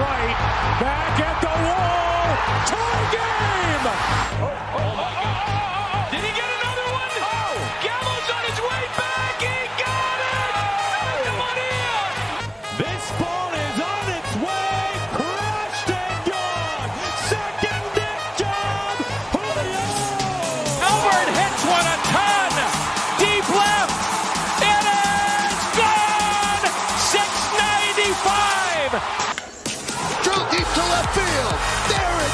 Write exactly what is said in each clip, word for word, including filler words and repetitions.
right, back at the wall, tie game! Oh, oh, oh, oh, oh, oh. Did he get another one? Oh! Gallows on his way back, he got it! Santa Maria! This ball is on its way, crushed and gone! Second deck job, Julio! Albert hits one a ton! Deep left! It is gone! six ninety-five! Drew deep to left field. There it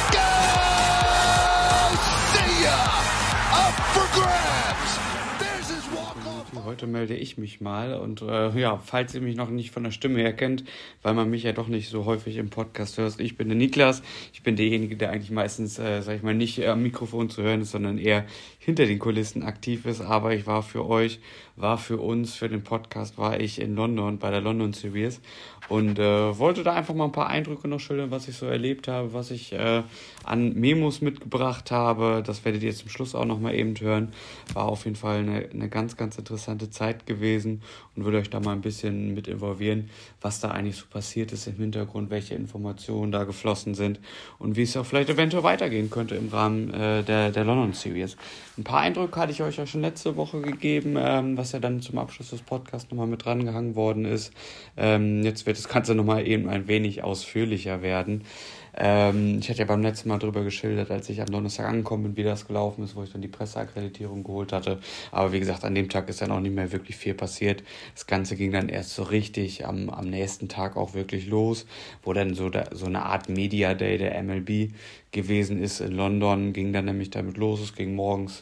goes. See ya. Up for grabs. There's his walk-off. Heute melde ich mich mal und äh, ja, falls ihr mich noch nicht von der Stimme her kennt, weil man mich ja doch nicht so häufig im Podcast hört, ich bin der Niklas, ich bin derjenige, der eigentlich meistens, äh, sag ich mal, nicht am Mikrofon zu hören ist, sondern eher hinter den Kulissen aktiv ist, aber ich war für euch, war für uns, für den Podcast, war ich in London bei der London Series und äh, wollte da einfach mal ein paar Eindrücke noch schildern, was ich so erlebt habe, was ich äh, an Memos mitgebracht habe. Das werdet ihr zum Schluss auch nochmal eben hören. War auf jeden Fall eine, eine ganz, ganz interessante Zeit gewesen und würde euch da mal ein bisschen mit involvieren, was da eigentlich so passiert ist im Hintergrund, welche Informationen da geflossen sind und wie es auch vielleicht eventuell weitergehen könnte im Rahmen äh, der, der London Series. Ein paar Eindrücke hatte ich euch ja schon letzte Woche gegeben, ähm, was ja dann zum Abschluss des Podcasts nochmal mit drangehangen worden ist. Ähm, jetzt wird das Ganze nochmal eben ein wenig ausführlicher werden. Ähm, ich hatte ja beim letzten Mal drüber geschildert, als ich am Donnerstag angekommen bin, wie das gelaufen ist, wo ich dann die Presseakkreditierung geholt hatte. Aber wie gesagt, an dem Tag ist dann auch nicht mehr wirklich viel passiert. Das Ganze ging dann erst so richtig am, am nächsten Tag auch wirklich los, wo dann so, da, so eine Art Media Day der M L B gewesen ist in London. Ging dann nämlich damit los. Es ging morgens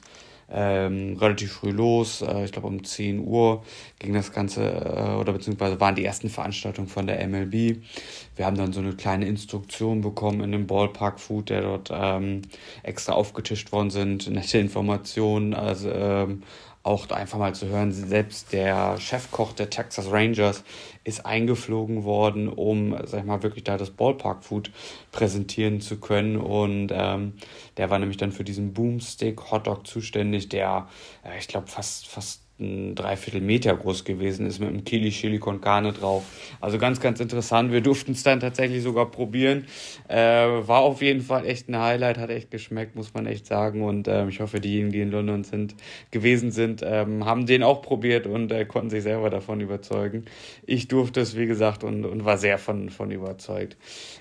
Ähm, relativ früh los, äh, ich glaube um zehn Uhr ging das Ganze, äh, oder beziehungsweise waren die ersten Veranstaltungen von der M L B. Wir haben dann so eine kleine Instruktion bekommen in dem Ballpark-Food, der dort ähm, extra aufgetischt worden sind, nette Informationen, also ähm, auch einfach mal zu hören, selbst der Chefkoch der Texas Rangers ist eingeflogen worden, um, sag ich mal, wirklich da das Ballpark-Food präsentieren zu können. Und ähm, der war nämlich dann für diesen Boomstick Hotdog zuständig, der, äh, ich glaube, fast, fast ein Dreiviertel Meter groß gewesen ist mit einem Kili Chili con Carne drauf. Also ganz, ganz interessant. Wir durften es dann tatsächlich sogar probieren. Äh, war auf jeden Fall echt ein Highlight, hat echt geschmeckt, muss man echt sagen. Und ähm, ich hoffe, diejenigen, die in London sind, gewesen sind, ähm, haben den auch probiert und äh, konnten sich selber davon überzeugen. Ich durfte es, wie gesagt, und, und war sehr von, von überzeugt.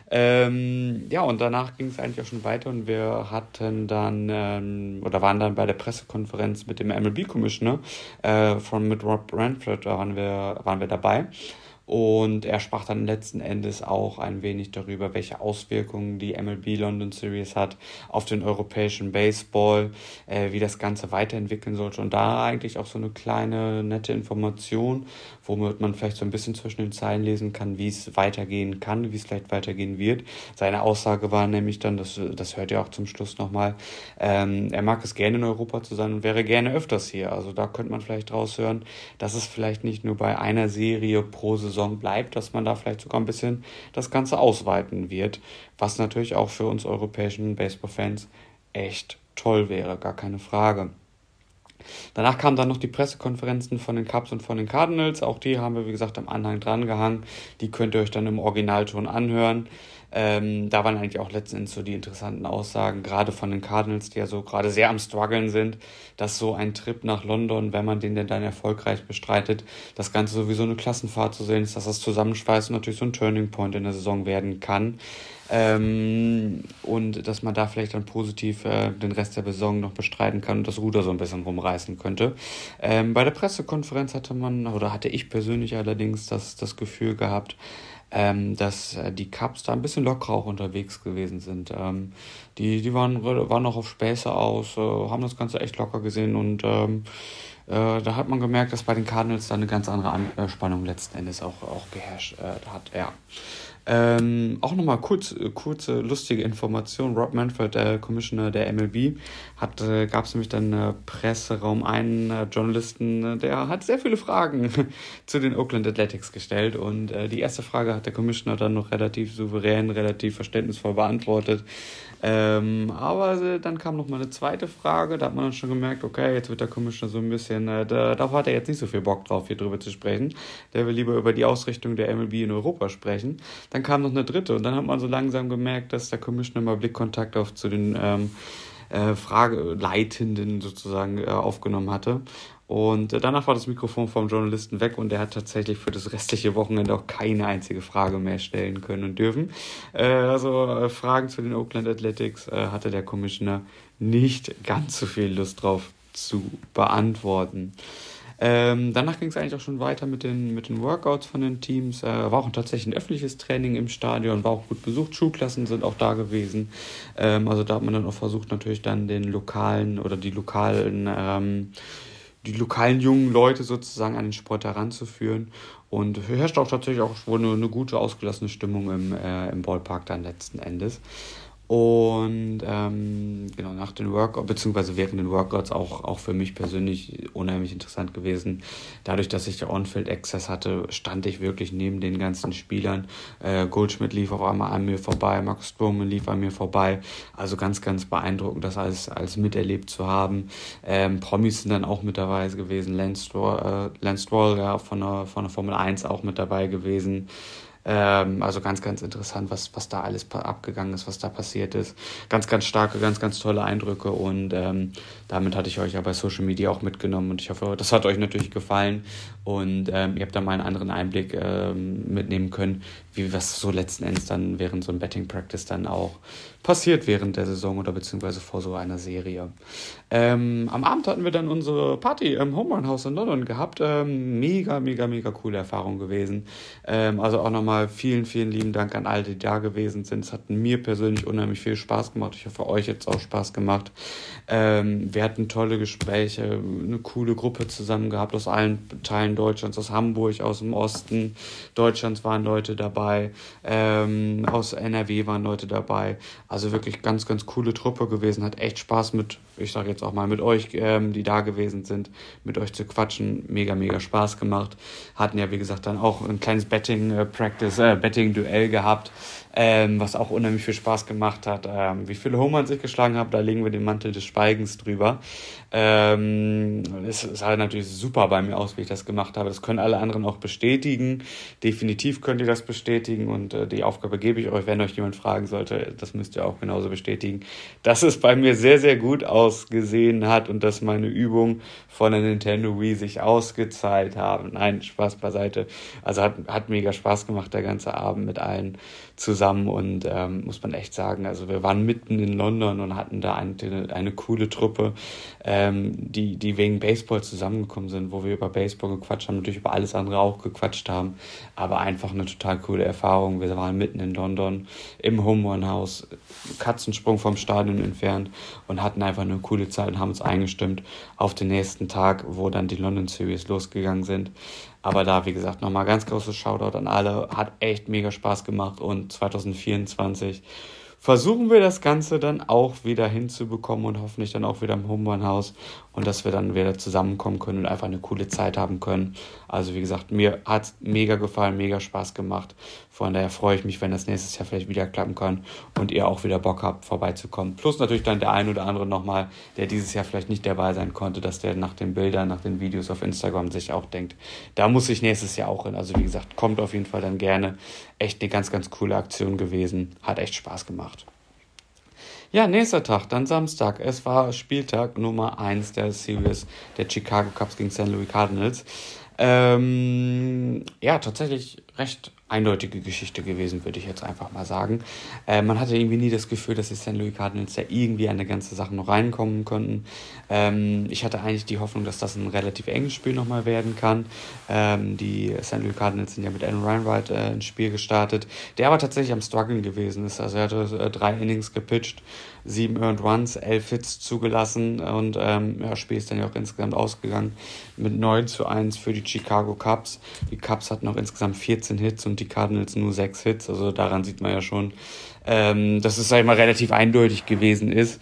Ähm, ja, und danach ging es eigentlich auch schon weiter und wir hatten dann, ähm, oder waren dann bei der Pressekonferenz mit dem M L B-Commissioner, Äh, von mit Rob Manfred, da waren wir, waren wir dabei. Und er sprach dann letzten Endes auch ein wenig darüber, welche Auswirkungen die M L B London Series hat auf den europäischen Baseball, äh, wie das Ganze weiterentwickeln sollte. Und da eigentlich auch so eine kleine, nette Information, womit man vielleicht so ein bisschen zwischen den Zeilen lesen kann, wie es weitergehen kann, wie es vielleicht weitergehen wird. Seine Aussage war nämlich dann, das, das hört ihr auch zum Schluss nochmal, ähm, er mag es gerne in Europa zu sein und wäre gerne öfters hier. Also da könnte man vielleicht raushören, dass es vielleicht nicht nur bei einer Serie pro Saison bleibt, dass man da vielleicht sogar ein bisschen das Ganze ausweiten wird, was natürlich auch für uns europäischen Baseball-Fans echt toll wäre, gar keine Frage. Danach kamen dann noch die Pressekonferenzen von den Cubs und von den Cardinals. Auch die haben wir, wie gesagt, am Anhang dran gehangen. Die könnt ihr euch dann im Originalton anhören. Ähm, da waren eigentlich auch letzten Endes so die interessanten Aussagen, gerade von den Cardinals, die ja so gerade sehr am struggeln sind, dass so ein Trip nach London, wenn man den denn dann erfolgreich bestreitet, das Ganze sowieso eine Klassenfahrt zu sehen ist, dass das Zusammenschweißen natürlich so ein Turning Point in der Saison werden kann. Ähm, und dass man da vielleicht dann positiv äh, den Rest der Saison noch bestreiten kann und das Ruder so ein bisschen rumreißen könnte. Ähm, bei der Pressekonferenz hatte man, oder hatte ich persönlich allerdings das, das Gefühl gehabt, ähm, dass äh, die Cubs da ein bisschen lockerer auch unterwegs gewesen sind. Ähm, die die waren, waren noch auf Späße aus, äh, haben das Ganze echt locker gesehen und ähm, äh, da hat man gemerkt, dass bei den Cardinals da eine ganz andere Anspannung letzten Endes auch, auch geherrscht äh, hat, ja. Ähm, auch nochmal kurz, kurze, lustige Information. Rob Manfred, der Commissioner der M L B, hat, äh, gab es nämlich dann äh, Presseraum einen äh, Journalisten, äh, der hat sehr viele Fragen zu den Oakland Athletics gestellt und äh, die erste Frage hat der Commissioner dann noch relativ souverän, relativ verständnisvoll beantwortet. Ähm, aber äh, dann kam noch mal eine zweite Frage, da hat man dann schon gemerkt, okay, jetzt wird der Commissioner so ein bisschen, äh, da, darauf hat er jetzt nicht so viel Bock drauf, hier drüber zu sprechen. Der will lieber über die Ausrichtung der M L B in Europa sprechen. dann kam noch eine dritte und dann hat man so langsam gemerkt, dass der Commissioner mal Blickkontakt auf zu den ähm, äh, Frageleitenden sozusagen äh, aufgenommen hatte. Und äh, danach war das Mikrofon vom Journalisten weg und der hat tatsächlich für das restliche Wochenende auch keine einzige Frage mehr stellen können und dürfen. Äh, also äh, Fragen zu den Oakland Athletics äh, hatte der Commissioner nicht ganz so viel Lust drauf zu beantworten. Ähm, danach ging es eigentlich auch schon weiter mit den, mit den Workouts von den Teams. Äh, war auch tatsächlich ein öffentliches Training im Stadion, war auch gut besucht. Schulklassen sind auch da gewesen. Ähm, also da hat man dann auch versucht, natürlich dann den lokalen oder die lokalen, ähm, die lokalen jungen Leute sozusagen an den Sport heranzuführen. Und herrscht auch tatsächlich auch wohl eine, eine gute, ausgelassene Stimmung im, äh, im Ballpark dann letzten Endes. Und ähm, genau nach den Workouts, beziehungsweise während den Workouts auch, auch für mich persönlich unheimlich interessant gewesen. Dadurch, dass ich der On-Field-Access hatte, stand ich wirklich neben den ganzen Spielern. Äh, Goldschmidt lief auf einmal an mir vorbei, Marcus Stroman lief an mir vorbei. Also ganz, ganz beeindruckend, das alles, alles miterlebt zu haben. Ähm, Promis sind dann auch mit dabei gewesen. Lance Stroll, äh, Lance Stroll ja, von, der, von der Formel eins auch mit dabei gewesen. Ähm, also ganz, ganz interessant, was, was da alles pa- abgegangen ist, was da passiert ist. Ganz, ganz starke, ganz, ganz tolle Eindrücke und ähm, damit hatte ich euch ja bei Social Media auch mitgenommen und ich hoffe, das hat euch natürlich gefallen und ähm, ihr habt da mal einen anderen Einblick ähm, mitnehmen können, wie was so letzten Endes dann während so einem Betting Practice dann auch passiert während der Saison oder beziehungsweise vor so einer Serie. Ähm, am Abend hatten wir dann unsere Party im Home Run House in London gehabt. Ähm, mega, mega, mega coole Erfahrung gewesen. Ähm, also auch nochmal vielen, vielen lieben Dank an alle, die da gewesen sind. Es hat mir persönlich unheimlich viel Spaß gemacht. Ich hoffe, euch jetzt auch Spaß gemacht. Ähm, wir hatten tolle Gespräche, eine coole Gruppe zusammen gehabt aus allen Teilen Deutschlands, aus Hamburg, aus dem Osten Deutschlands waren Leute dabei, ähm, aus N R W waren Leute dabei. Also wirklich ganz, ganz coole Truppe gewesen. Hat echt Spaß mit, ich sage jetzt auch mal mit euch, ähm, die da gewesen sind, mit euch zu quatschen. Mega, mega Spaß gemacht. Hatten ja, wie gesagt, dann auch ein kleines Betting-Practice, äh, Betting-Duell gehabt, ähm, was auch unheimlich viel Spaß gemacht hat. Ähm, wie viele Home Runs ich geschlagen habe, da legen wir den Mantel des Schweigens drüber. Ähm, es sah natürlich super bei mir aus, wie ich das gemacht habe. Das können alle anderen auch bestätigen. Definitiv könnt ihr das bestätigen und äh, die Aufgabe gebe ich euch, wenn euch jemand fragen sollte, das müsst ihr auch genauso bestätigen, dass es bei mir sehr, sehr gut ausgesehen hat und dass meine Übungen von der Nintendo Wii sich ausgezahlt haben. Nein, Spaß beiseite. Also hat, hat mega Spaß gemacht, der ganze Abend mit allen zusammen und ähm, muss man echt sagen, also wir waren mitten in London und hatten da eine, eine coole Truppe, ähm, die, die wegen Baseball zusammengekommen sind, wo wir über Baseball gequatscht haben, natürlich über alles andere auch gequatscht haben, aber einfach eine total coole Erfahrung. Wir waren mitten in London im Home Run House, Katzensprung vom Stadion entfernt und hatten einfach eine coole Zeit und haben uns eingestimmt auf den nächsten Tag, wo dann die London Series losgegangen sind. Aber da, wie gesagt, nochmal ganz großes Shoutout an alle. Hat echt mega Spaß gemacht und zwanzig vierundzwanzig versuchen wir das Ganze dann auch wieder hinzubekommen und hoffentlich dann auch wieder im Home Run House und dass wir dann wieder zusammenkommen können und einfach eine coole Zeit haben können. Also wie gesagt, mir hat es mega gefallen, mega Spaß gemacht. Von daher freue ich mich, wenn das nächstes Jahr vielleicht wieder klappen kann und ihr auch wieder Bock habt, vorbeizukommen. Plus natürlich dann der ein oder andere nochmal, der dieses Jahr vielleicht nicht dabei sein konnte, dass der nach den Bildern, nach den Videos auf Instagram sich auch denkt, da muss ich nächstes Jahr auch hin. Also wie gesagt, kommt auf jeden Fall dann gerne. Echt eine ganz, ganz coole Aktion gewesen. Hat echt Spaß gemacht. Ja, nächster Tag, dann Samstag. Es war Spieltag Nummer eins der Series der Chicago Cubs gegen Saint Louis Cardinals. Ähm, ja, tatsächlich recht eindeutige Geschichte gewesen, würde ich jetzt einfach mal sagen. Äh, man hatte irgendwie nie das Gefühl, dass die Saint Louis Cardinals da irgendwie an eine ganze Sache noch reinkommen konnten. Ähm, ich hatte eigentlich die Hoffnung, dass das ein relativ enges Spiel nochmal werden kann. Ähm, die Saint Louis Cardinals sind ja mit Aaron Reinwright äh, ins Spiel gestartet, der aber tatsächlich am Struggeln gewesen ist. Also er hatte äh, drei Innings gepitcht, sieben Earned Runs, elf Hits zugelassen und ähm, ja, das Spiel ist dann ja auch insgesamt ausgegangen mit neun zu eins für die Chicago Cubs. Die Cubs hatten auch insgesamt vierzehn Hits und die Cardinals nur sechs Hits. Also daran sieht man ja schon, ähm, dass es, sag ich mal, relativ eindeutig gewesen ist.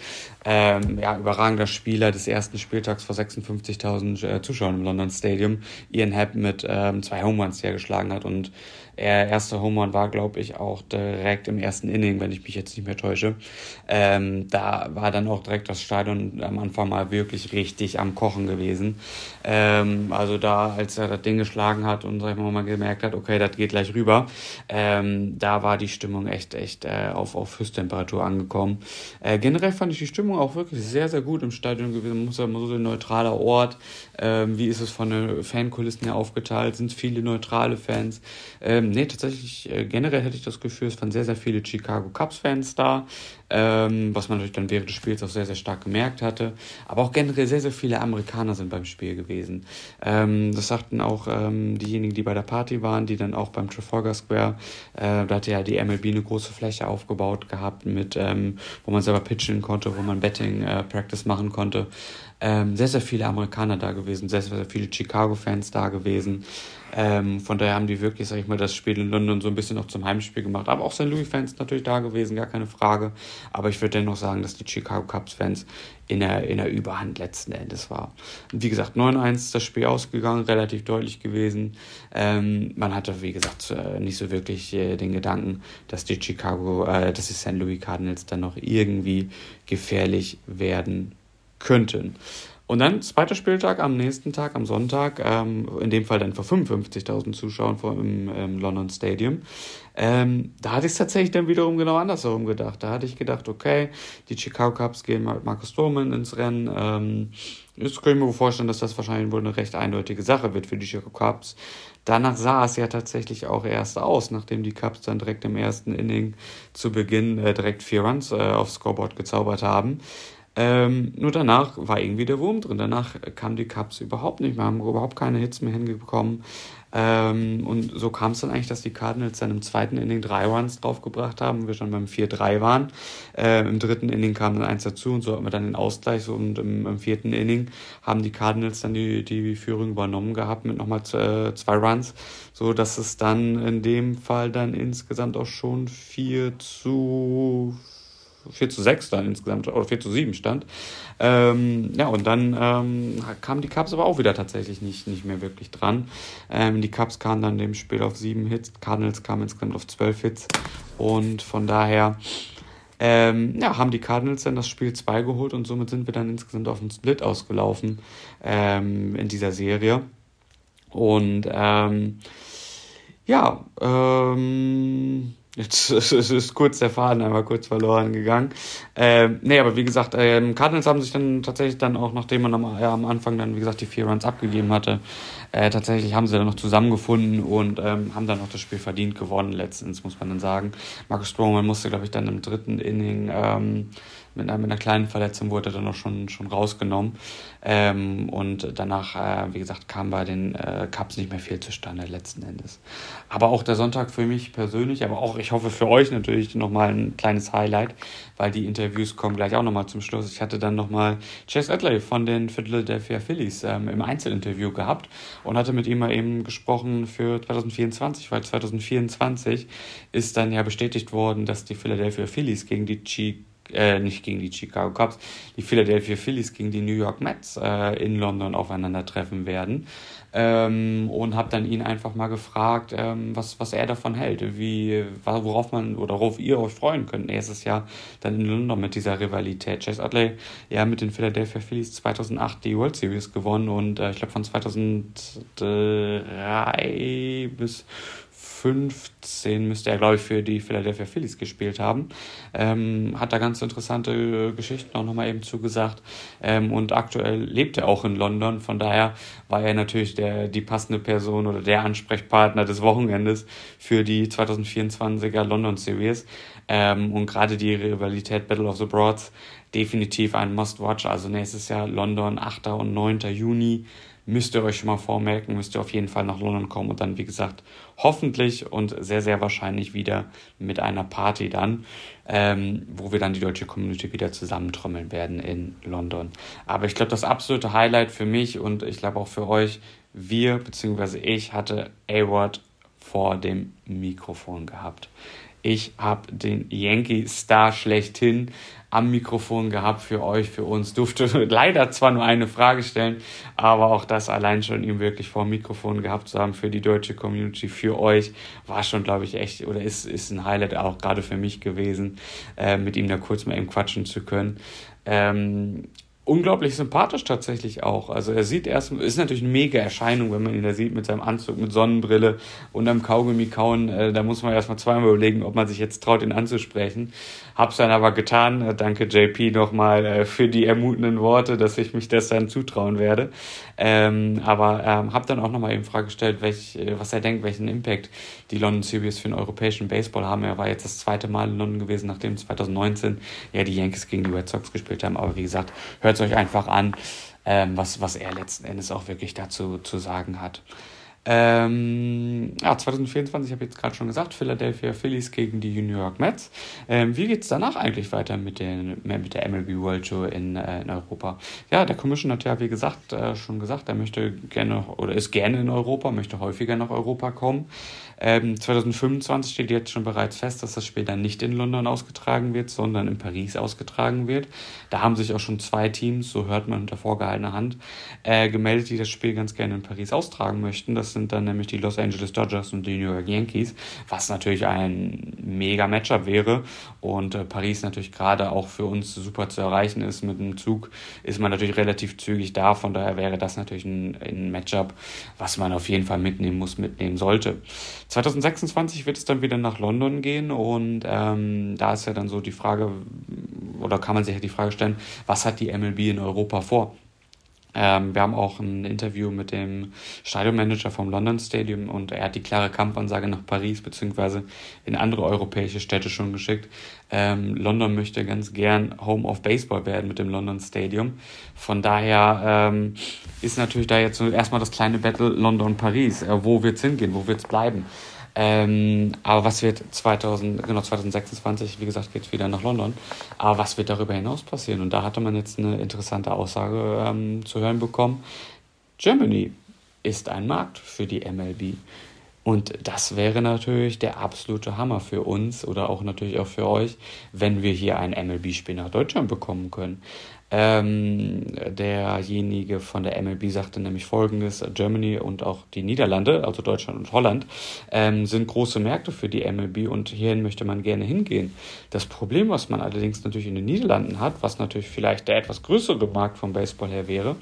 Ähm, ja, überragender Spieler des ersten Spieltags vor sechsundfünfzigtausend äh, Zuschauern im London Stadium. Ian Happ mit ähm, zwei Home Runs, die er geschlagen hat. Und er erster Home Run war, glaube ich, auch direkt im ersten Inning, wenn ich mich jetzt nicht mehr täusche. Ähm, da war dann auch direkt das Stadion am Anfang mal wirklich richtig am Kochen gewesen. Ähm, also da, als er das Ding geschlagen hat und sag ich mal, mal gemerkt hat, okay, das geht gleich rüber, ähm, da war die Stimmung echt, echt äh, auf, auf Höchsttemperatur angekommen. Äh, generell fand ich die Stimmung auch wirklich sehr, sehr gut im Stadion gewesen. Muss ja immer so ein neutraler Ort. Ähm, wie ist es von den Fankulissen her aufgeteilt? Sind es viele neutrale Fans? Ähm, nee, tatsächlich, äh, generell hätte ich das Gefühl, es waren sehr, sehr viele Chicago Cubs-Fans da, ähm, was man natürlich dann während des Spiels auch sehr, sehr stark gemerkt hatte. Aber auch generell sehr, sehr viele Amerikaner sind beim Spiel gewesen. Ähm, das sagten auch ähm, diejenigen, die bei der Party waren, die dann auch beim Trafalgar Square, äh, da hatte ja die M L B eine große Fläche aufgebaut gehabt, mit, ähm, wo man selber pitchen konnte, wo man Betting äh, Practice machen konnte. Ähm, sehr, sehr viele Amerikaner da gewesen, sehr, sehr viele Chicago-Fans da gewesen. Ähm, von daher haben die wirklich, sag ich mal, das Spiel in London so ein bisschen auch zum Heimspiel gemacht. Aber auch Saint Louis-Fans natürlich da gewesen, gar keine Frage. Aber ich würde dennoch sagen, dass die Chicago Cubs-Fans in der, in der Überhand letzten Endes war. Und wie gesagt, neun eins ist das Spiel ausgegangen, relativ deutlich gewesen. Ähm, man hatte, wie gesagt, nicht so wirklich äh, den Gedanken, dass die Chicago, äh, dass die Saint Louis Cardinals dann noch irgendwie gefährlich werden könnten. Und dann zweiter Spieltag am nächsten Tag, am Sonntag, ähm, in dem Fall dann vor fünfundfünfzigtausend Zuschauern vor, im, im London Stadium. Ähm, da hatte ich es tatsächlich dann wiederum genau andersherum gedacht. Da hatte ich gedacht, okay, die Chicago Cubs gehen mit Marcus Stroman ins Rennen. Ähm, jetzt kann ich mir vorstellen, dass das wahrscheinlich wohl eine recht eindeutige Sache wird für die Chicago Cubs. Danach sah es ja tatsächlich auch erst aus, nachdem die Cubs dann direkt im ersten Inning zu Beginn äh, direkt vier Runs äh, aufs Scoreboard gezaubert haben. Ähm, nur danach war irgendwie der Wurm drin. Danach kamen die Cubs überhaupt nicht mehr, haben überhaupt keine Hits mehr hingekommen. Ähm, und so kam es dann eigentlich, dass die Cardinals dann im zweiten Inning drei Runs draufgebracht haben, wir schon beim vier drei waren. Ähm, Im dritten Inning kam dann eins dazu und so hatten wir dann den Ausgleich. So, und im, im vierten Inning haben die Cardinals dann die, die Führung übernommen gehabt mit nochmal äh, zwei Runs, so dass es dann in dem Fall dann insgesamt auch schon vier zu sechs dann insgesamt, oder vier zu sieben stand. Ähm, ja, und dann ähm, kamen die Cubs aber auch wieder tatsächlich nicht, nicht mehr wirklich dran. Ähm, die Cubs kamen dann dem Spiel auf sieben Hits, Cardinals kamen insgesamt auf zwölf Hits. Und von daher ähm, ja, haben die Cardinals dann das Spiel zwei geholt und somit sind wir dann insgesamt auf einen Split ausgelaufen ähm, in dieser Serie. Und ähm, ja, ähm... Jetzt ist, ist kurz der Faden einmal kurz verloren gegangen. Ähm, nee, aber wie gesagt, ähm, Cardinals haben sich dann tatsächlich dann auch, nachdem man am, ja, am Anfang dann, wie gesagt, die vier Runs abgegeben hatte, äh, tatsächlich haben sie dann noch zusammengefunden und ähm, haben dann auch das Spiel verdient gewonnen, letztens, muss man dann sagen. Marcus Stroman musste, glaube ich, dann im dritten Inning ähm, mit, einer, mit einer kleinen Verletzung wurde er dann auch schon, schon rausgenommen. Ähm, und danach, äh, wie gesagt, kam bei den äh, Cubs nicht mehr viel zustande letzten Endes. Aber auch der Sonntag für mich persönlich, aber auch, ich hoffe für euch natürlich nochmal ein kleines Highlight, weil die Interviews kommen gleich auch nochmal zum Schluss. Ich hatte dann nochmal Chase Utley von den Philadelphia Phillies ähm, im Einzelinterview gehabt und hatte mit ihm mal eben gesprochen für zwanzig vierundzwanzig, weil zwanzig vierundzwanzig ist dann ja bestätigt worden, dass die Philadelphia Phillies gegen die Chicago Äh, nicht gegen die Chicago Cubs, die Philadelphia Phillies gegen die New York Mets äh, in London aufeinandertreffen werden. Ähm, und habe dann ihn einfach mal gefragt, ähm, was, was er davon hält, wie, worauf man oder worauf ihr euch freuen könnt. Nächstes Jahr dann in London mit dieser Rivalität. Chase Utley, ja, mit den Philadelphia Phillies zweitausendacht die World Series gewonnen und äh, ich glaube von zweitausenddrei bis fünfzehn müsste er, glaube ich, für die Philadelphia Phillies gespielt haben. Ähm, hat da ganz interessante äh, Geschichten auch nochmal eben zugesagt. Ähm, und aktuell lebt er auch in London. Von daher war er natürlich der, die passende Person oder der Ansprechpartner des Wochenendes für die zwanzig vierundzwanziger London Series. Ähm, und gerade die Rivalität Battle of the Broads definitiv ein Must-Watch. Also nächstes Jahr London, achter und neunter Juni. Müsst ihr euch schon mal vormerken, müsst ihr auf jeden Fall nach London kommen und dann, wie gesagt, hoffentlich und sehr, sehr wahrscheinlich wieder mit einer Party dann, ähm, wo wir dann die deutsche Community wieder zusammentrommeln werden in London. Aber ich glaube, das absolute Highlight für mich und ich glaube auch für euch, wir bzw. ich hatte A-Rod vor dem Mikrofon gehabt. Ich habe den Yankee-Star schlechthin am Mikrofon gehabt für euch, für uns. Durfte leider zwar nur eine Frage stellen, aber auch das allein schon ihm wirklich vor dem Mikrofon gehabt zu haben für die deutsche Community, für euch, war schon, glaube ich, echt, oder ist, ist ein Highlight auch gerade für mich gewesen, äh, mit ihm da kurz mal eben quatschen zu können. Ähm, Unglaublich sympathisch tatsächlich auch. Also er sieht erst, ist natürlich eine mega Erscheinung, wenn man ihn da sieht mit seinem Anzug, mit Sonnenbrille und am Kaugummi kauen. Äh, da muss man erstmal zweimal überlegen, ob man sich jetzt traut, ihn anzusprechen. Hab's dann aber getan. Äh, danke J P nochmal äh, für die ermutenden Worte, dass ich mich das dann zutrauen werde. Ähm, aber ähm, hab dann auch nochmal eben Frage gestellt, welch, äh, was er denkt, welchen Impact die London Series für den europäischen Baseball haben. Er war jetzt das zweite Mal in London gewesen, nachdem zwanzig neunzehn ja die Yankees gegen die Red Sox gespielt haben. Aber wie gesagt, hört es euch einfach an, ähm, was, was er letzten Endes auch wirklich dazu zu sagen hat. Ähm, ja, zwanzig vierundzwanzig, ich habe jetzt gerade schon gesagt, Philadelphia Phillies gegen die New York Mets. Ähm, wie geht es danach eigentlich weiter mit, den, mit der M L B World Tour in, äh, in Europa? Ja, der Commissioner hat ja, wie gesagt, äh, schon gesagt, er möchte gerne oder ist gerne in Europa, möchte häufiger nach Europa kommen. Ähm, zwanzig fünfundzwanzig steht jetzt schon bereits fest, dass das Spiel dann nicht in London ausgetragen wird, sondern in Paris ausgetragen wird. Da haben sich auch schon zwei Teams, so hört man unter vorgehaltener Hand, äh, gemeldet, die das Spiel ganz gerne in Paris austragen möchten. Das sind dann nämlich die Los Angeles Dodgers und die New York Yankees, was natürlich ein mega Matchup wäre und äh, Paris natürlich gerade auch für uns super zu erreichen ist. Mit dem Zug ist man natürlich relativ zügig da, von daher wäre das natürlich ein, ein Matchup, was man auf jeden Fall mitnehmen muss, mitnehmen sollte. zwanzig sechsundzwanzig wird es dann wieder nach London gehen und ähm, da ist ja dann so die Frage, oder kann man sich ja die Frage stellen, was hat die M L B in Europa vor? Ähm, wir haben auch ein Interview mit dem Stadionmanager vom London Stadium und er hat die klare Kampfansage nach Paris bzw. in andere europäische Städte schon geschickt. Ähm, London möchte ganz gern Home of Baseball werden mit dem London Stadium. Von daher ähm, ist natürlich da jetzt so erstmal das kleine Battle London-Paris. Äh, wo wird's hingehen? Wo wird's bleiben? Ähm, aber was wird zweitausend, genau zwanzig sechsundzwanzig, wie gesagt, geht es wieder nach London. Aber was wird darüber hinaus passieren? Und da hatte man jetzt eine interessante Aussage ähm, zu hören bekommen. Germany ist ein Markt für die M L B. Und das wäre natürlich der absolute Hammer für uns oder auch natürlich auch für euch, wenn wir hier ein M L B-Spiel nach Deutschland bekommen können. Ähm, derjenige von der M L B sagte nämlich Folgendes: Germany und auch die Niederlande, also Deutschland und Holland, ähm, sind große Märkte für die M L B und hierhin möchte man gerne hingehen. Das Problem, was man allerdings natürlich in den Niederlanden hat, was natürlich vielleicht der etwas größere Markt vom Baseball her wäre,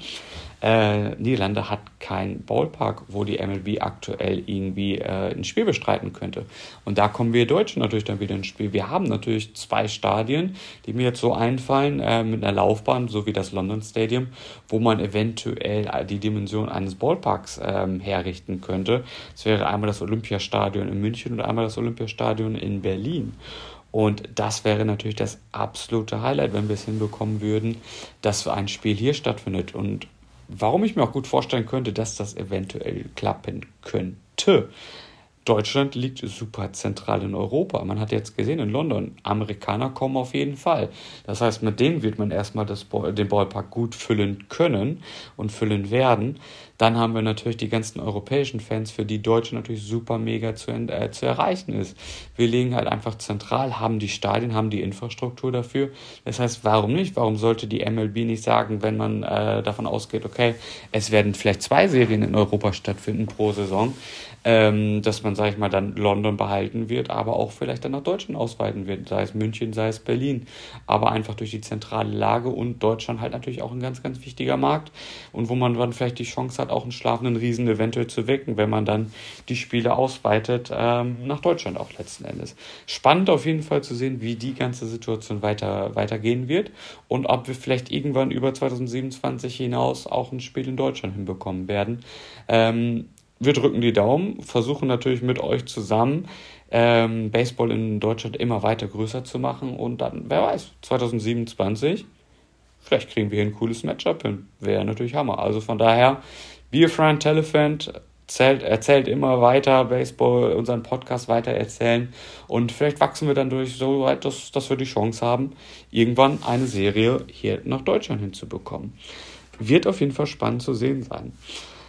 Äh, Niederlande hat keinen Ballpark, wo die M L B aktuell irgendwie äh, ein Spiel bestreiten könnte. Und da kommen wir Deutschen natürlich dann wieder ins Spiel. Wir haben natürlich zwei Stadien, die mir jetzt so einfallen, äh, mit einer Laufbahn, so wie das London Stadium, wo man eventuell die Dimension eines Ballparks ähm, herrichten könnte. Das wäre einmal das Olympiastadion in München und einmal das Olympiastadion in Berlin. Und das wäre natürlich das absolute Highlight, wenn wir es hinbekommen würden, dass ein Spiel hier stattfindet. Und warum ich mir auch gut vorstellen könnte, dass das eventuell klappen könnte. Deutschland liegt super zentral in Europa. Man hat jetzt gesehen, in London, Amerikaner kommen auf jeden Fall. Das heißt, mit denen wird man erstmal das, den Ballpark gut füllen können und füllen werden. Dann haben wir natürlich die ganzen europäischen Fans, für die Deutschland natürlich super mega zu, äh, zu erreichen ist. Wir liegen halt einfach zentral, haben die Stadien, haben die Infrastruktur dafür. Das heißt, warum nicht? Warum sollte die M L B nicht sagen, wenn man äh, davon ausgeht, okay, es werden vielleicht zwei Serien in Europa stattfinden pro Saison, ähm, dass man, sage ich mal, dann London behalten wird, aber auch vielleicht dann nach Deutschland ausweiten wird, sei es München, sei es Berlin. Aber einfach durch die zentrale Lage und Deutschland halt natürlich auch ein ganz, ganz wichtiger Markt und wo man dann vielleicht die Chance hat, auch einen schlafenden Riesen eventuell zu wecken, wenn man dann die Spiele ausweitet, ähm, nach Deutschland auch letzten Endes. Spannend auf jeden Fall zu sehen, wie die ganze Situation weiter weitergehen wird und ob wir vielleicht irgendwann über zwanzig siebenundzwanzig hinaus auch ein Spiel in Deutschland hinbekommen werden. Ähm, wir drücken die Daumen, versuchen natürlich mit euch zusammen ähm, Baseball in Deutschland immer weiter größer zu machen und dann, wer weiß, zwanzig siebenundzwanzig vielleicht kriegen wir hier ein cooles Matchup hin. Wäre natürlich Hammer. Also von daher, Be a Friend, Tell a Friend, erzählt, erzählt immer weiter Baseball, unseren Podcast weiter erzählen und vielleicht wachsen wir dann durch so weit, dass, dass wir die Chance haben, irgendwann eine Serie hier nach Deutschland hinzubekommen. Wird auf jeden Fall spannend zu sehen sein.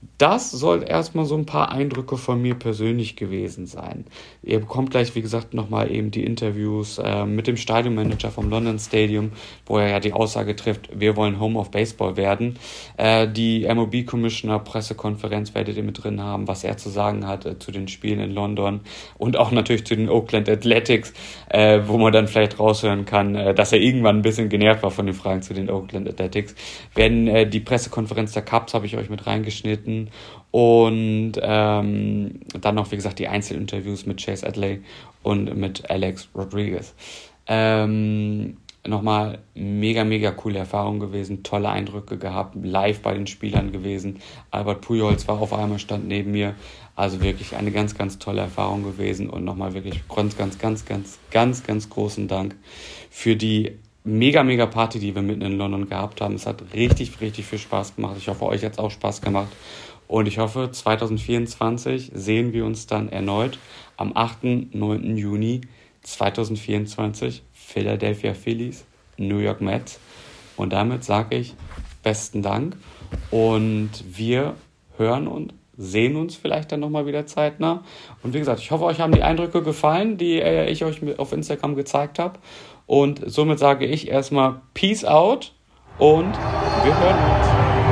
Das soll erstmal so ein paar Eindrücke von mir persönlich gewesen sein. Ihr bekommt gleich, wie gesagt, nochmal eben die Interviews äh, mit dem Stadionmanager vom London Stadium, wo er ja die Aussage trifft, wir wollen Home of Baseball werden. Äh, die M L B-Commissioner Pressekonferenz werdet ihr mit drin haben, was er zu sagen hat äh, zu den Spielen in London und auch natürlich zu den Oakland Athletics, äh, wo man dann vielleicht raushören kann, äh, dass er irgendwann ein bisschen genervt war von den Fragen zu den Oakland Athletics. Werden äh, die Pressekonferenz der Cubs habe ich euch mit reingeschnitten. Und ähm, dann noch, wie gesagt, die Einzelinterviews mit Chase Adley und mit Alex Rodriguez. Ähm, nochmal mega, mega coole Erfahrung gewesen, tolle Eindrücke gehabt, live bei den Spielern gewesen. Albert Pujols war auf einmal, stand neben mir. Also wirklich eine ganz, ganz tolle Erfahrung gewesen und nochmal wirklich ganz, ganz, ganz, ganz, ganz, ganz großen Dank für die mega, mega Party, die wir mitten in London gehabt haben. Es hat richtig, richtig viel Spaß gemacht. Ich hoffe, euch hat es auch Spaß gemacht. Und ich hoffe, zwanzig vierundzwanzig sehen wir uns dann erneut am achten und neunten Juni zwanzig vierundzwanzig. Philadelphia Phillies, New York Mets. Und damit sage ich besten Dank. Und wir hören und sehen uns vielleicht dann nochmal wieder zeitnah. Und wie gesagt, ich hoffe, euch haben die Eindrücke gefallen, die äh, ich euch auf Instagram gezeigt habe. Und somit sage ich erstmal Peace out und wir hören uns.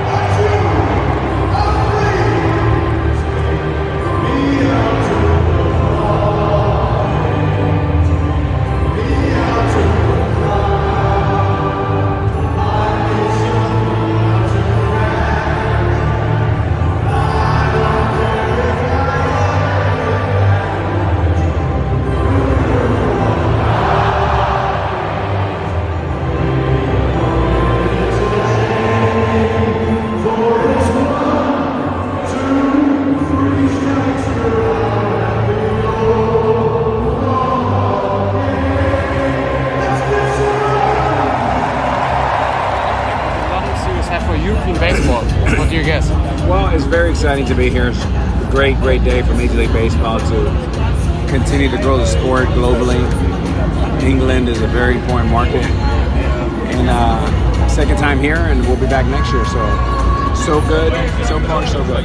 Exciting to be here. It's a great, great day for Major League Baseball to continue to grow the sport globally. England is a very important market. And uh, second time here, and we'll be back next year. So, so good. So far, so good.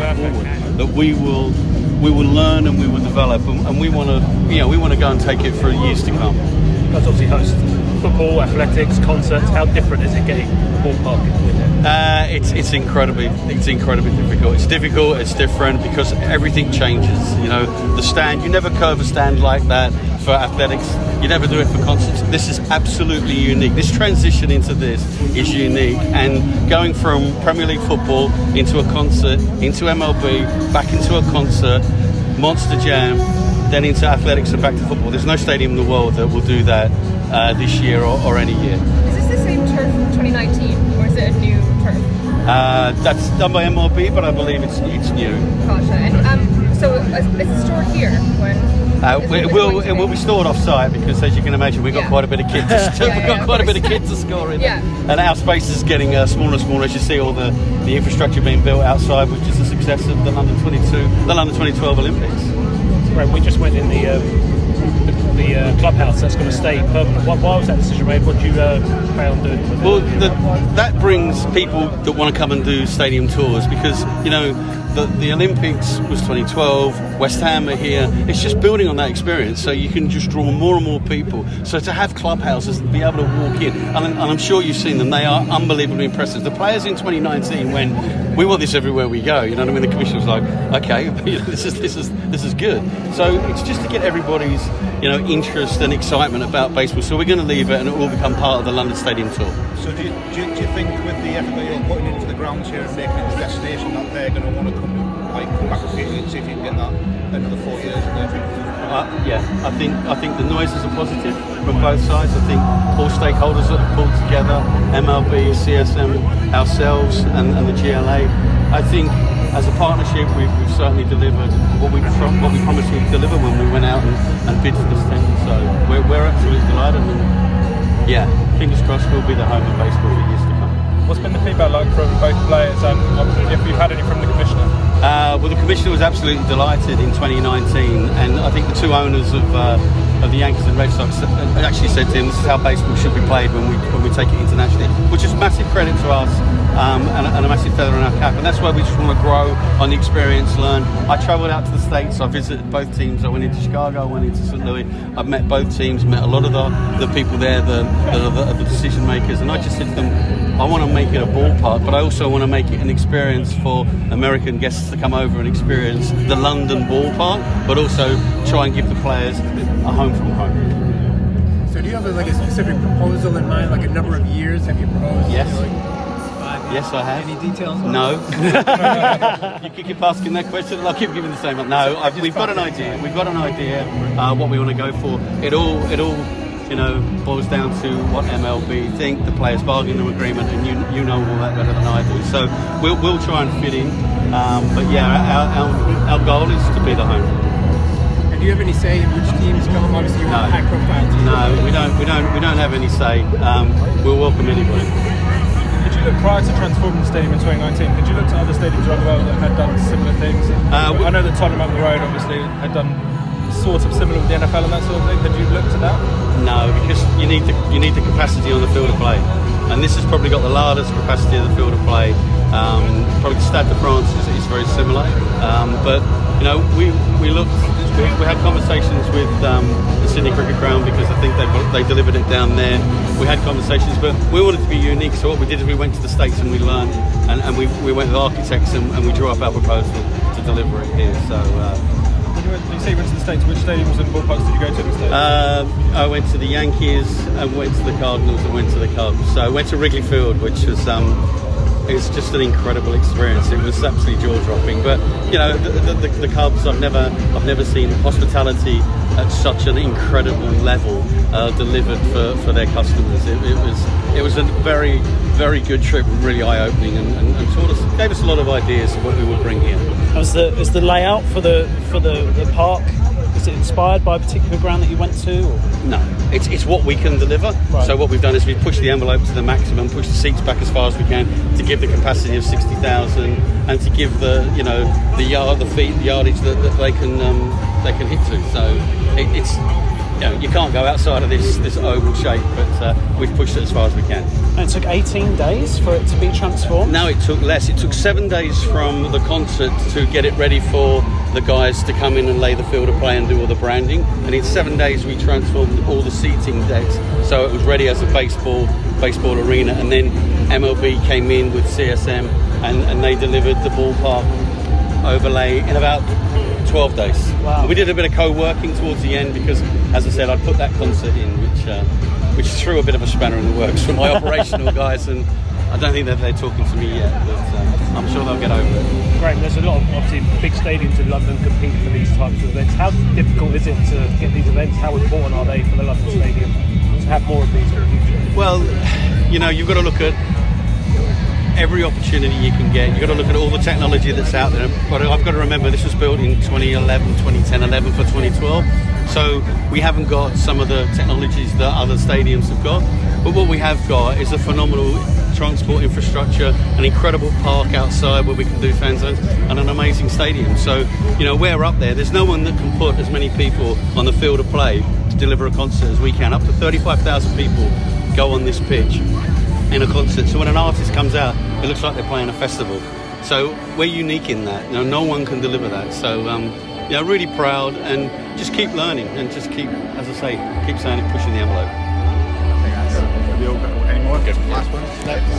That we will, we will learn and we will develop, and, and we want to, you know, we want to go and take it for years to come. That's obviously host football, athletics, concerts. How different is it getting ballpark with it? Uh, it's it's incredibly it's incredibly difficult. It's difficult. It's different because everything changes. You know, the stand. You never curve a stand like that for athletics. You never do it for concerts. This is absolutely unique. This transition into this is unique. And going from Premier League football into a concert, into M L B, back into a concert, Monster Jam, then into athletics and back to football. There's no stadium in the world that will do that uh, this year or, or any year. Is this the same turf from twenty nineteen, or is it a new turf? Uh, that's done by M L B, but I believe it's it's new. Gotcha. And um, so is it stored here when? Uh, it, it will it will be stored off site because, as you can imagine, we've got yeah. quite a bit of kit. To, yeah, we've got yeah, quite a bit of kit to score in, yeah. and our space is getting uh, smaller and smaller as you see all the, the infrastructure being built outside, which is the success of the London twenty-two, the London twenty twelve Olympics. Right, we just went in the um, the, the uh, clubhouse that's going to stay permanent. Why, why was that decision made? What do you uh, plan on doing with well, it? Well, that brings people that want to come and do stadium tours because, you know, the, the Olympics was twenty twelve, West Ham are here. It's just building on that experience so you can just draw more and more people. So to have clubhouses and be able to walk in, and, and I'm sure you've seen them, they are unbelievably impressive. The players in twenty nineteen, when we want this everywhere we go, you know what I mean? The commission was like, okay, this is this is this is good. So it's just to get everybody's, you know, interest and excitement about baseball. So we're going to leave it and it will become part of the London Stadium tour. So do you, do you, do you think with the effort that you're putting into the grounds here and making it a destination that they're going to want to come, like, come back repeatedly and see if you can get that another four years in there? Uh, yeah, I think I think the noises are positive from both sides. I think all stakeholders that have pulled together, M L B, C S M, ourselves and, and the G L A. I think as a partnership we've, we've certainly delivered what we what we promised we'd deliver when we went out and, and bid for this tender. So we're, we're absolutely delighted and yeah, fingers crossed we'll be the home of baseball for years to come. What's been the feedback like from both players and if you've had any from the Commissioner? Uh, well, the Commissioner was absolutely delighted in twenty nineteen, and I think the two owners of uh, of the Yankees and Red Sox actually said to him, this is how baseball should be played when we when we take it internationally, which is massive credit to us um, and, and a massive feather in our cap. And that's why we just want to grow on the experience, learn. I travelled out to the States. I visited both teams. I went into Chicago. I went into Saint Louis. I've met both teams. Met a lot of the, the people there, the, the, the, the decision makers. And I just said to them, I want to make it a ballpark, but I also want to make it an experience for American guests to come over and experience the London ballpark, but also try and give the players a home from home. So do you have like a specific proposal in mind, like a number of years? Have you proposed? Yes. You know, like five years? Yes, I have. Any details? On No. You could keep asking that question and I'll keep giving the same one. No, I've, we've got an idea. We've got an idea uh, what we want to go for. It all, it all, you know, boils down to what M L B think, the players' bargaining agreement, and you you know all that better than I do. So we'll we'll try and fit in. Um, but yeah, our, our our goal is to be the home. And do you have any say in which teams come? Obviously, you're No. a high-profile team. No, we don't. We don't. We don't have any say. Um, we'll welcome anybody. Did you look prior to transforming the stadium in twenty nineteen? Did you look to other stadiums around the world that had done similar things? Uh, we- I know that Tottenham up the road obviously had done sort of similar with the N F L and that sort of thing. Had you looked at that? No, because you need the you need the capacity on the field of play, and this has probably got the largest capacity of the field of play. Um, probably the Stade de France is, is very similar, um, but you know we we looked we, we had conversations with um, the Sydney Cricket Ground because I think they they delivered it down there. We had conversations, but we wanted to be unique. So what we did is we went to the States and we learned, and, and we, we went with architects and, and we drew up our proposal to deliver it here. So. Uh, When you, went, you say you went to the States, which stadiums and ballparks did you go to in the States? Um, I went to the Yankees, I went to the Cardinals, and went to the Cubs. So I went to Wrigley Field, which was um, it was just an incredible experience. It was absolutely jaw-dropping. But you know, the, the, the, the Cubs, I've never, I've never seen hospitality at such an incredible level uh, delivered for, for their customers. It, it was, it was a very, very good trip, really eye-opening, and, and, and sort of gave us a lot of ideas of what we would bring here. Was the is the layout for the for the, the park, is it inspired by a particular ground that you went to? Or? No, it's it's what we can deliver. Right. So what we've done is we've pushed the envelope to the maximum, pushed the seats back as far as we can to give the capacity of sixty thousand, and to give the you know the yard the feet the yardage that, that they can um, they can hit to. So it, it's you know you can't go outside of this this oval shape, but uh, we've pushed it as far as we can. And it took eighteen days for it to be transformed? No, it took less. It took seven days from the concert to get it ready for the guys to come in and lay the field of play and do all the branding. And in seven days we transformed all the seating decks so it was ready as a baseball baseball arena. And then M L B came in with C S M and, and they delivered the ballpark overlay in about twelve days. Wow. We did a bit of co-working towards the end because, as I said, I put that concert in, which uh, which threw a bit of a spanner in the works for my operational guys, and I don't think that they're talking to me yet, but uh, I'm sure they'll get over it. Great. There's a lot of obviously big stadiums in London compete for these types of events. How difficult is it to get these events? How important are they for the London Stadium to have more of these in the future? Well, you know, you've got to look at every opportunity you can get. You've got to look at all the technology that's out there. But I've got to remember this was built in twenty eleven, twenty ten, eleven for twenty twelve. So we haven't got some of the technologies that other stadiums have got. But what we have got is a phenomenal transport infrastructure, an incredible park outside where we can do fan zones, and an amazing stadium. So, you know, we're up there. There's no one that can put as many people on the field of play to deliver a concert as we can. Up to thirty-five thousand people go on this pitch in a concert. So when an artist comes out, it looks like they're playing a festival. So we're unique in that. You know, no one can deliver that. So, um, you know, really proud, and just keep learning and just keep, as I say, keep saying it, pushing the envelope. Have you all got any more? Good. Last one?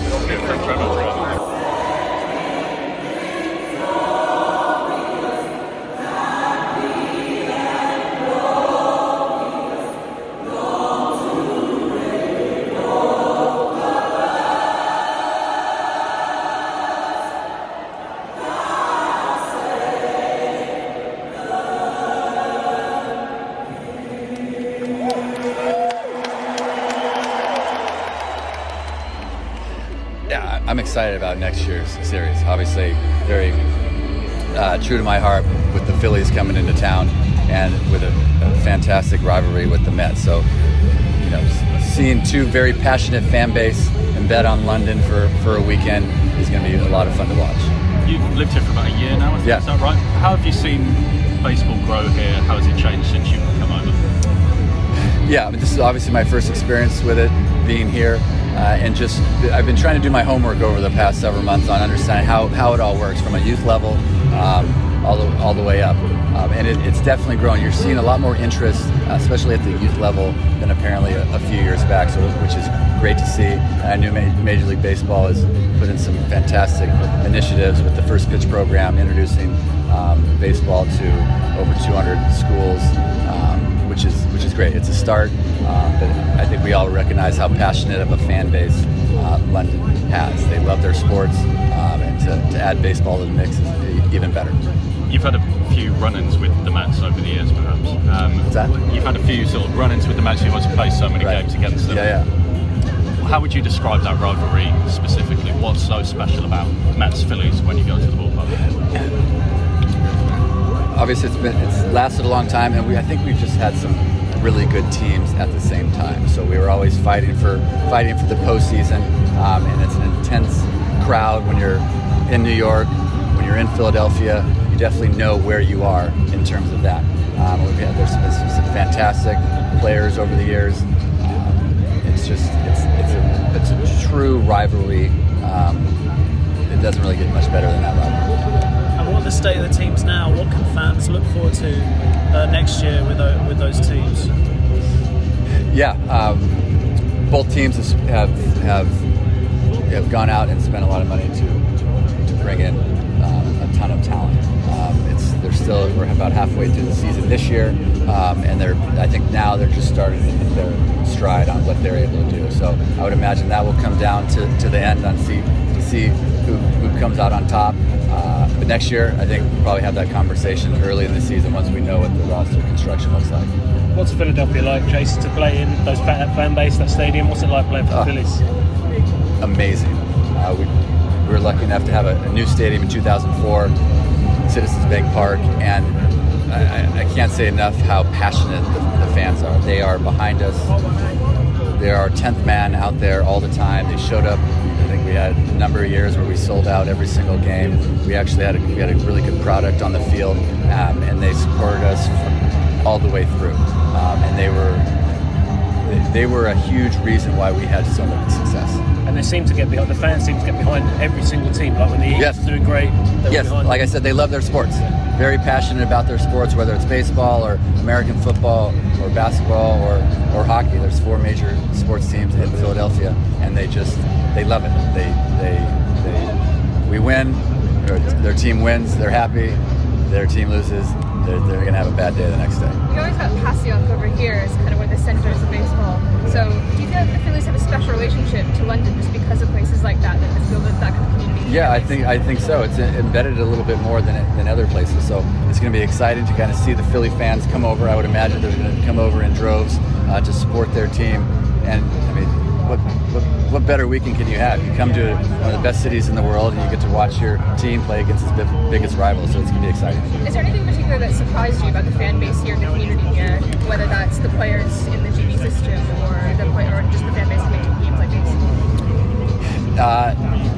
I'm excited about next year's series. Obviously, very uh, true to my heart with the Phillies coming into town and with a, a fantastic rivalry with the Mets. So, you know, seeing two very passionate fan base and bet on London for, for a weekend is going to be a lot of fun to watch. You've lived here for about a year now, I think, yeah. Is that right? How have you seen baseball grow here? How has it changed since you've come over? Yeah, I mean, this is obviously my first experience with it, being here. uh, and just I've been trying to do my homework over the past several months on understanding how, how it all works from a youth level um, all the all the way up, um, and it, it's definitely growing. You're seeing a lot more interest, uh, especially at the youth level, than apparently a, a few years back. So, which is great to see. And I knew Major League Baseball has put in some fantastic initiatives with the First Pitch program, introducing um, baseball to over two hundred schools, um, which is which is great. It's a start, um, but I think we all recognize how passionate of a fan base uh, London has. They love their sports, um, and to, to add baseball to the mix is even better. You've had a few run-ins with the Mets over the years, perhaps. Um, What's that? You've had a few sort of run-ins with the Mets. You've also played so many Right. games against them. Yeah, yeah. How would you describe that rivalry specifically? What's so special about Mets Phillies when you go to the ballpark? Obviously, it's been it's lasted a long time, and we I think we've just had some really good teams at the same time. So we were always fighting for fighting for the postseason, um, and it's an intense crowd when you're in New York, when you're in Philadelphia. You definitely know where you are in terms of that. Um, we've had there's been some, some fantastic players over the years. Um, it's just it's it's a it's a true rivalry. Um, it doesn't really get much better than that rivalry. And what are the state of the teams now? What can fans look forward to uh, next year with uh, with those teams? Yeah, um, both teams have have have gone out and spent a lot of money to to bring in um, a ton of talent. Um, it's they're still we're about halfway through the season this year, um, and they're I think now they're just starting to hit their stride on what they're able to do. So I would imagine that will come down to, to the end on see to see who, who comes out on top. Uh, but next year, I think we'll probably have that conversation early in the season once we know what the roster construction looks like. What's Philadelphia like, Jason, to play in those fan, fan base, that stadium? What's it like playing for the Uh, Phillies? Amazing. Uh, we, we were lucky enough to have a, a new stadium in two thousand four, Citizens Bank Park, and I, I can't say enough how passionate the, the fans are. They are behind us. They're our tenth man out there all the time. They showed up. I think we had a number of years where we sold out every single game. We actually had a, we had a really good product on the field, um, and they supported us from all the way through. Um, and they were they, they were a huge reason why we had so much success. And they seem to get behind, the fans seem to get behind every single team. Like when the Eagles Yes. are doing great, they're Yes, behind like I them. said, they love their sports. Very passionate about their sports, whether it's baseball or American football or basketball or, or hockey. There's four major sports teams in Philadelphia, and they just they love it. They they they we win, or their team wins, they're happy. Their team loses, they're, they're gonna have a bad day the next day. You always got Passyunk over here as kind of where the centers of baseball. So do you feel like the Phillies have a special relationship to London just because of places like that that just build that kind of community? Yeah, I think I think so. It's embedded a little bit more than than other places. So it's going to be exciting to kind of see the Philly fans come over. I would imagine they're going to come over in droves uh, to support their team. And I mean, what, what what better weekend can you have? You come to one of the best cities in the world, and you get to watch your team play against its big- biggest rival. So it's going to be exciting. Is there anything particular that surprised you about the fan base here, the community here, whether that's the players in the G B system or the play, or just the fan base making games like these? Uh,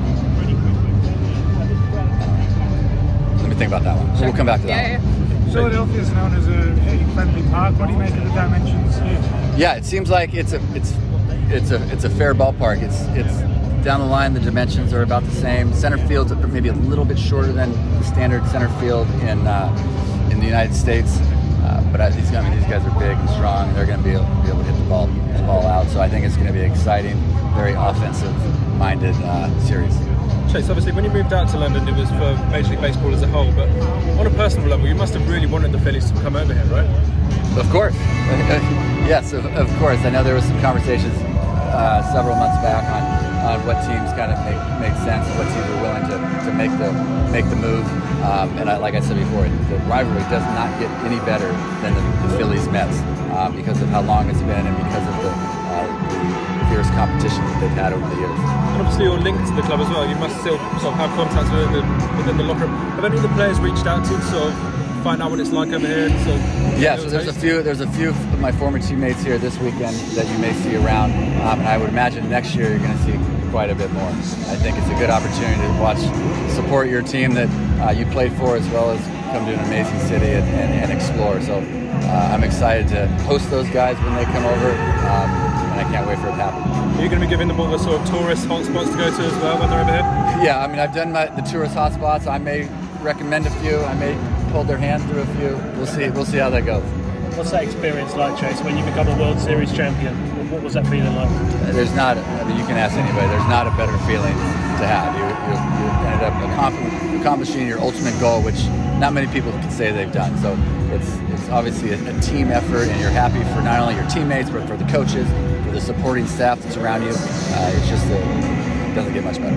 let me think about that one. So we'll come back to that Yeah, one. yeah. Philadelphia is known as a hitting-friendly park. What do you make of the dimensions here? Yeah, it seems like it's a it's it's a it's a fair ballpark. It's it's down the line. The dimensions are about the same. Center field's maybe a little bit shorter than the standard center field in uh, in the United States. Uh, but I, these I mean these guys are big and strong, and they're going to be able, be able to hit the ball the ball out. So I think it's going to be an exciting, very offensive-minded uh, series. Chase, obviously, when you moved out to London, it was for Major League Baseball as a whole. But on a personal level, you must have really wanted the Phillies to come over here, right? Of course. Yes, of, of course. I know there was some conversations uh, several months back on, on what teams kind of make, make sense and what teams are willing to, to make the make the move. Um, and I, like I said before, the rivalry does not get any better than the, the Phillies Mets um, because of how long it's been and because of the, uh, the fierce competition that they've had over the years. And obviously, you're linked to the club as well. You must still sort of have contacts within the, within the locker room. Have any of the players reached out to you to sort of find out what it's like over here? And sort of Yeah, so there's a few. There's a few of my former teammates here this weekend that you may see around, um, and I would imagine next year you're going to see quite a bit more. I think it's a good opportunity to watch, support your team that uh, you played for, as well as come to an amazing city and, and, and explore. So uh, I'm excited to host those guys when they come over, um, and I can't wait for it to happen. Are you going to be giving them all the sort of tourist hotspots to go to as well when they're over here? Yeah, I mean, I've done my, the tourist hotspots. I may recommend a few. I may hold their hand through a few. We'll see. We'll see how that goes. What's that experience like, Chase, when you become a World Series champion? What was that feeling like? There's not, I mean, you can ask anybody, there's not a better feeling to have. You, you, you ended up accompli- accomplishing your ultimate goal, which not many people can say they've done. So it's it's obviously a, a team effort, and you're happy for not only your teammates, but for the coaches, for the supporting staff that's around you. Uh, it's just, a, it doesn't get much better.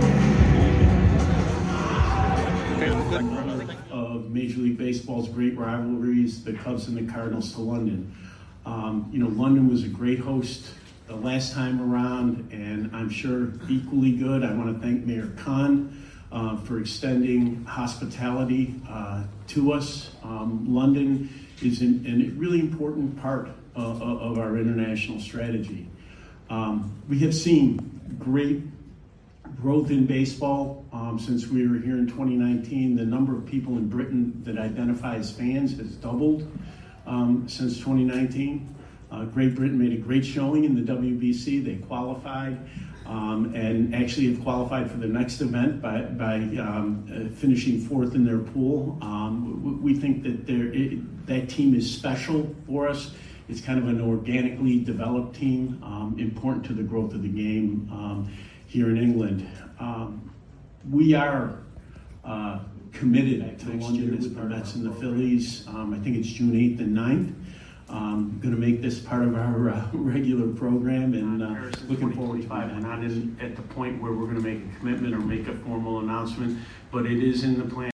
Of Major League Baseball's great rivalries, the Cubs and the Cardinals, to London. Um, you know, London was a great host the last time around, and I'm sure equally good. I want to thank Mayor Khan uh, for extending hospitality uh, to us. Um, London is an, a really important part uh, of our international strategy. Um, we have seen great growth in baseball um, since we were here in twenty nineteen. The number of people in Britain that identify as fans has doubled um, since twenty nineteen. Uh, Great Britain made a great showing in the W B C. They qualified um, and actually have qualified for the next event by, by um, uh, finishing fourth in their pool. Um, we think that it, that team is special for us. It's kind of an organically developed team, um, important to the growth of the game um, here in England. Um, we are uh, committed to London with the Mets and the Phillies. Um, I think it's June eighth and ninth. Um, going to make this part of our uh, regular program, and uh, looking forward to it. We're not in, at the point where we're going to make a commitment or make a formal announcement, but it is in the plan.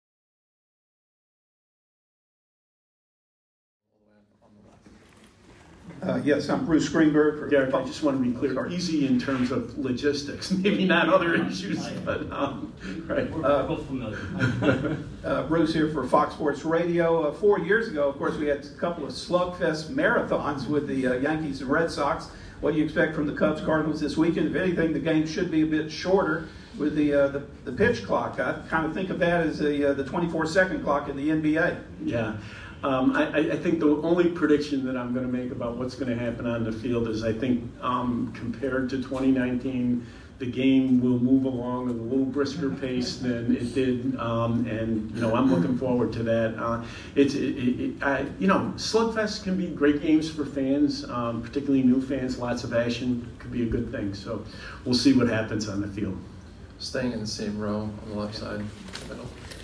Uh, yes, I'm Bruce Greenberg. For Derek, I just want to be clear, Sorry. easy in terms of logistics, maybe not other issues, but um, right. We're uh, both familiar. uh, Bruce here for Fox Sports Radio. Uh, four years ago, of course, we had a couple of slugfest marathons with the uh, Yankees and Red Sox. What do you expect from the Cubs Cardinals this weekend? If anything, the game should be a bit shorter with the uh, the, the pitch clock. I kind of think of that as the uh, the twenty-four second clock in the N B A. Yeah. Um, I, I think the only prediction that I'm going to make about what's going to happen on the field is I think um, compared to twenty nineteen, the game will move along at a little brisker pace than it did, um, and you know I'm looking forward to that. Uh, it's it, it, it, I, you know slugfest can be great games for fans, um, particularly new fans. Lots of action could be a good thing. So we'll see what happens on the field. Staying in the same row on the left side, middle.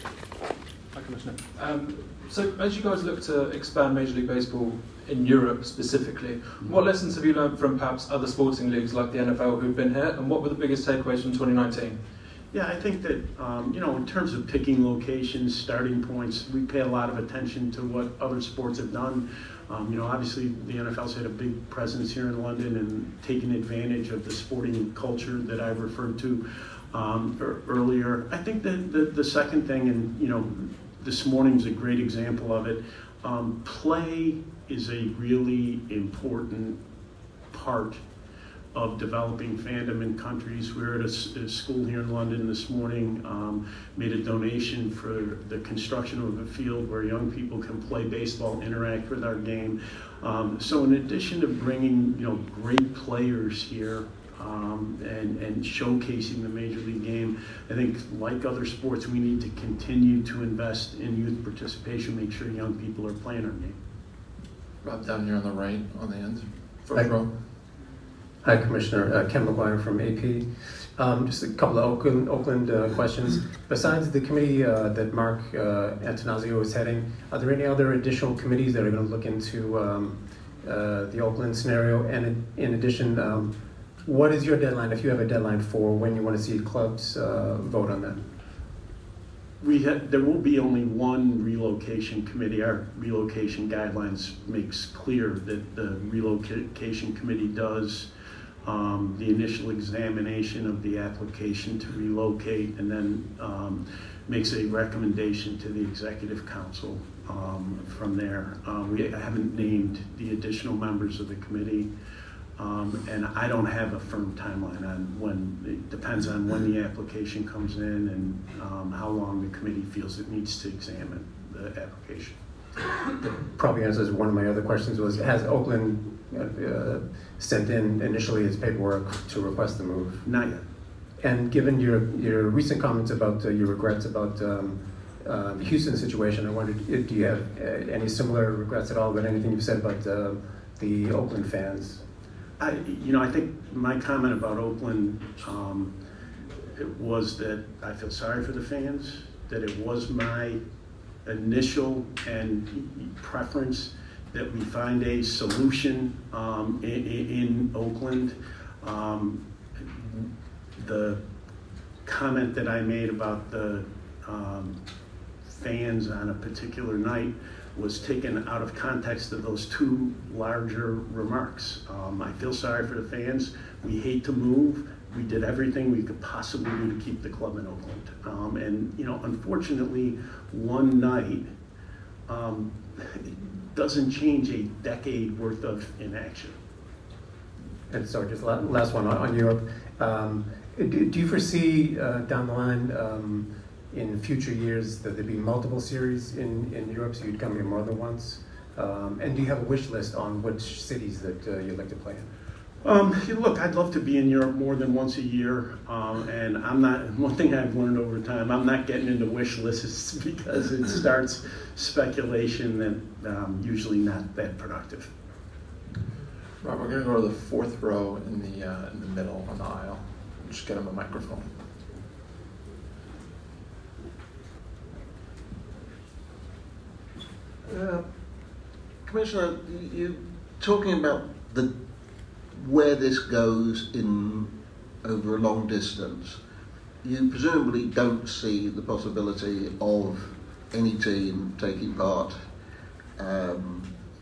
Hi, Commissioner. Um, So as you guys look to expand Major League Baseball in Europe specifically, what lessons have you learned from perhaps other sporting leagues like the N F L who've been here, and what were the biggest takeaways from twenty nineteen? Yeah, I think that, um, you know, in terms of picking locations, starting points, we pay a lot of attention to what other sports have done. Um, you know, obviously the N F L's had a big presence here in London and taken advantage of the sporting culture that I referred to um, er- earlier. I think that the, the second thing, and, you know, this morning's a great example of it. Um, play is a really important part of developing fandom in countries. We were at a, a school here in London this morning, um, made a donation for the construction of a field where young people can play baseball, interact with our game. Um, so in addition to bringing, you know, great players here, Um, and, and showcasing the Major League game, I think like other sports, we need to continue to invest in youth participation, make sure young people are playing our game. Rob, down here on the right, on the end, Hi. first row. Hi, Commissioner. Uh, Ken McGuire from A P. Um, just a couple of Oakland, Oakland uh, questions. Besides the committee uh, that Mark uh, Antonazio is heading, are there any other additional committees that are going to look into um, uh, the Oakland scenario? And in, in addition, um, what is your deadline, if you have a deadline, for when you want to see clubs uh, vote on that? We ha- there will be only one relocation committee. Our relocation guidelines makes clear that the relocation committee does um, the initial examination of the application to relocate, and then um, makes a recommendation to the executive council um, from there. Uh, we haven't named the additional members of the committee. Um, and I don't have a firm timeline on when. It depends on when the application comes in and um, how long the committee feels it needs to examine the application. Probably answers one of my other questions was, has Oakland uh, sent in initially its paperwork to request the move? Not yet. And given your, your recent comments about uh, your regrets about um, uh, the Houston situation, I wondered, uh, do you have uh, any similar regrets at all about anything you've said about uh, the Oakland fans? I, you know, I think my comment about Oakland um, it was that I feel sorry for the fans, that it was my initial and preference that we find a solution um, in, in Oakland. Um, the comment that I made about the um, fans on a particular night was taken out of context of those two larger remarks. Um, I feel sorry for the fans. We hate to move. We did everything we could possibly do to keep the club in Oakland. Um, and, you know, unfortunately, one night um, doesn't change a decade worth of inaction. And so just la- last one on, on Europe. Um, do, do you foresee uh, down the line um, in future years that there'd be multiple series in, in Europe, so you'd come here more than once? Um, and do you have a wish list on which cities that uh, you'd like to play in? Um, look, I'd love to be in Europe more than once a year, um, and I'm not. One thing I've learned over time, I'm not getting into wish lists because it starts speculation that um, usually not that productive. Rob, we're going to go to the fourth row in the uh, in the middle on the aisle. Just get him a microphone. Uh, Commissioner, you talking about the where this goes in over a long distance. You presumably don't see the possibility of any team taking part um,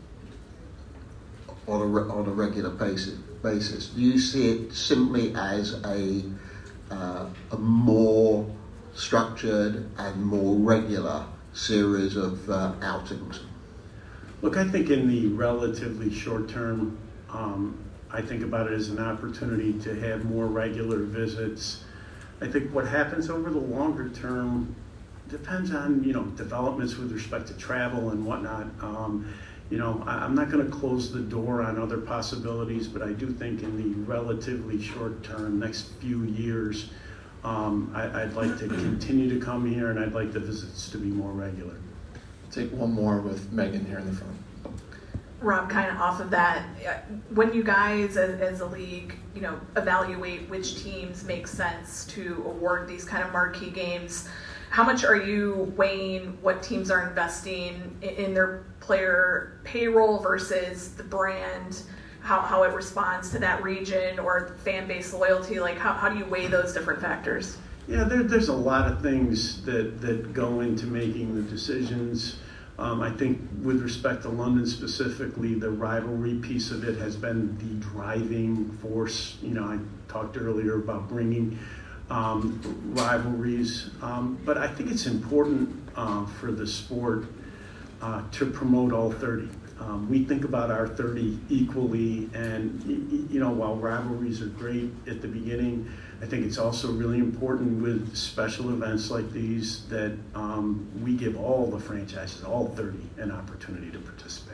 on a re- on a regular basis. Basis. Do you see it simply as a uh, a more structured and more regular series of uh, outings? Look, I think in the relatively short term, um, I think about it as an opportunity to have more regular visits. I think what happens over the longer term depends on, you know, developments with respect to travel and whatnot. Um, you know, I, I'm not going to close the door on other possibilities, but I do think in the relatively short term, next few years, um, I, I'd like to continue to come here, and I'd like the visits to be more regular. Take one more with Megan here in the front. Rob, kind of off of that, when you guys as, as a league, you know, evaluate which teams make sense to award these kind of marquee games, how much are you weighing what teams are investing in, in their player payroll versus the brand, how, how it responds to that region or fan base loyalty? Like, how, how do you weigh those different factors? Yeah, there, there's a lot of things that, that go into making the decisions. Um, I think with respect to London specifically, the rivalry piece of it has been the driving force. You know, I talked earlier about bringing um, rivalries, um, but I think it's important uh, for the sport uh, to promote all thirty. Um, we think about our thirty equally, and you know, while rivalries are great at the beginning, I think it's also really important with special events like these that um, we give all the franchises, all thirty, an opportunity to participate.